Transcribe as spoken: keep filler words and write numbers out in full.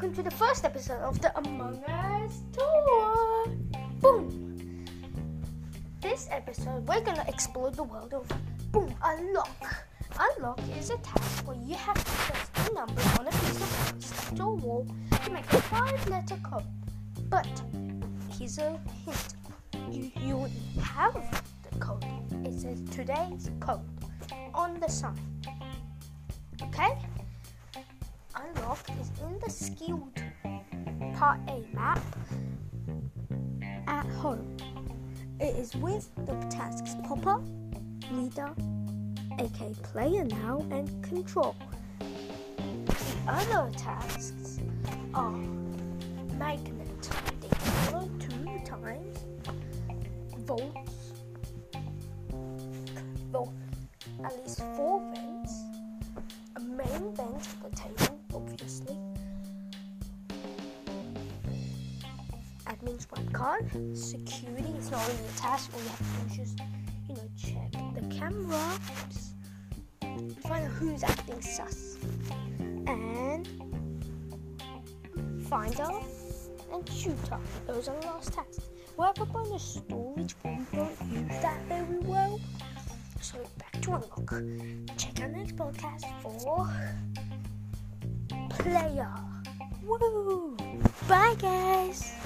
welcome to the first episode of the Among Us tour. Boom! This episode, we're gonna explore the world of Boom Unlock. Unlock is a task where you have to press the numbers on a piece of paper stuck to a wall to make a five-letter code. But here's a hint: you you already have the code. It says today's code on the sign. Okay? Unlock is in the skilled part A map at home. It is with the tasks Popper, Leader, aka Player Now, and Control. The other tasks are Magnet, they follow two times, Volts, Volt, at least four vents, a main vent at the table, obviously, admin's one card, security is not really a task, all you have to do is just, you know, check the camera, just find out who's acting sus, and finder and shooter. Those are the last tasks. We have a bonus storage, but we don't use that very well. So back to Unlock. Check our next podcast for Player. Woo! Bye guys!